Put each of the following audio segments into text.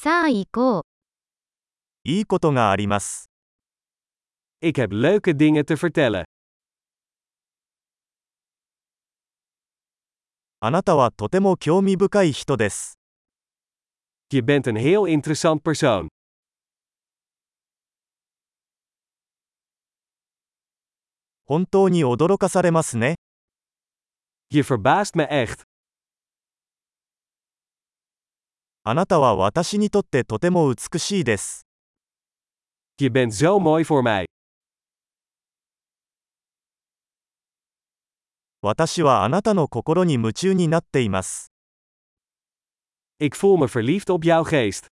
さあ行こう。 いいことがあります。 Ik heb leuke dingen te vertellen. あなたはとても興味深い人です。 Je bent een heel interessant persoon. 本当に驚かされますね。 Je verbaast me echt. あなたは私にとってとても美しいです。 Je bent zo mooi voor mij. 私はあなたの心に夢中になっています。 Ik voel me verliefd op jouw geest.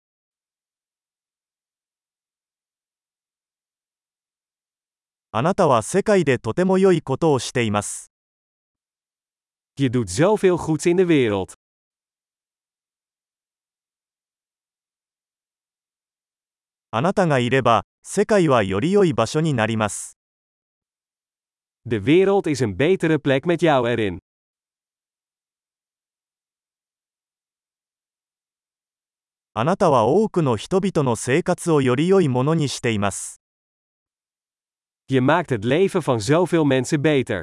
あなたは世界でとても良いことをしています。 Je doet zoveel goeds in de wereld. あなたがいれば、世界はより良い場所になります。 De wereld is een betere plek met jou erin. あなたは多くの人々の生活をより良いものにしています。 Je maakt het leven van zoveel mensen beter.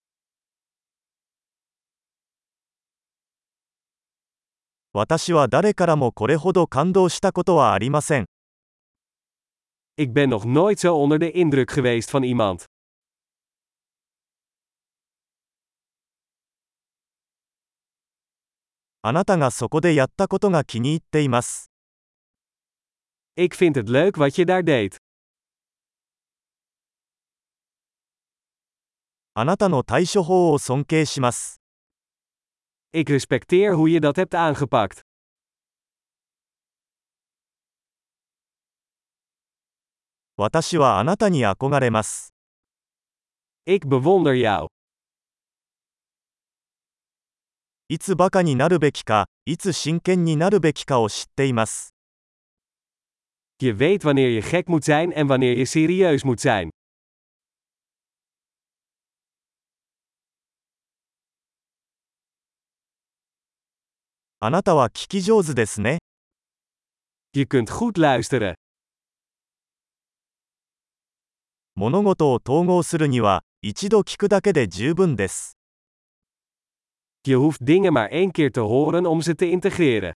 私は誰からもこれほど感動したことはありません。 Ik ben nog nooit zo onder de indruk geweest van iemand. あなたがそこでやったことが気に入っています。 Ik vind het leuk wat je daar deed. あなたの対処法を尊敬します。 Ik respecteer hoe je dat hebt aangepakt. 私はあなたに憧れます。 Ik bewonder jou. いつバカになるべきか、いつ真剣になるべきかを知っています。 Je weet wanneer je gek moet zijn en wanneer je serieus moet zijn. あなたは聞き上手ですね。 Je kunt goed luisteren. 物事を統合するには、一度聞くだけで十分です。 Je hoeft dingen maar één keer te horen om ze te integreren.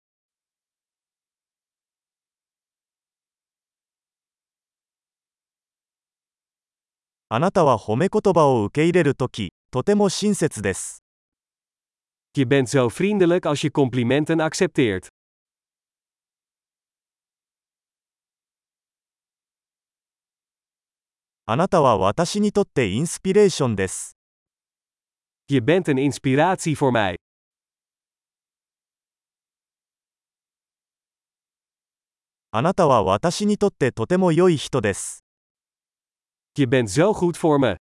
あなたは褒め言葉を受け入れるとき、とても親切です。 Je bent zo vriendelijk als je complimenten accepteert. あなたは私にとってインスピレーションです。 Je bent een inspiratie voor mij. あなたは私にとってとても良い人です。 Je bent zo goed voor me.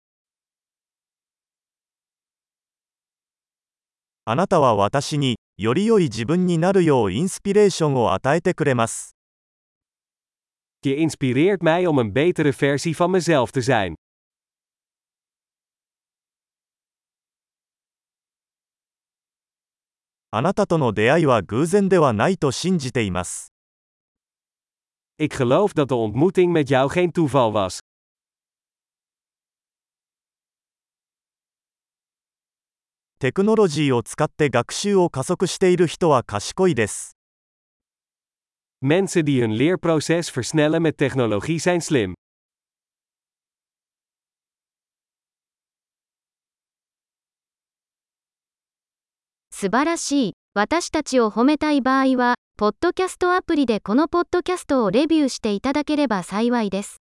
あなたは私に、より良い自分になるようインスピレーションを与えてくれます。 Je inspireert mij om een betere versie van mezelf te zijn. あなたとの出会いは偶然ではないと信じています。 Ik geloof dat de ontmoeting met jou geen toeval was. テクノロジーを使って学習を加速している人は賢いです。 Mensen die hun leerproces versnellen met technologie zijn slim. 素晴らしい。私たちを褒めたい場合は、ポッドキャストアプリでこのポッドキャストをレビューしていただければ幸いです。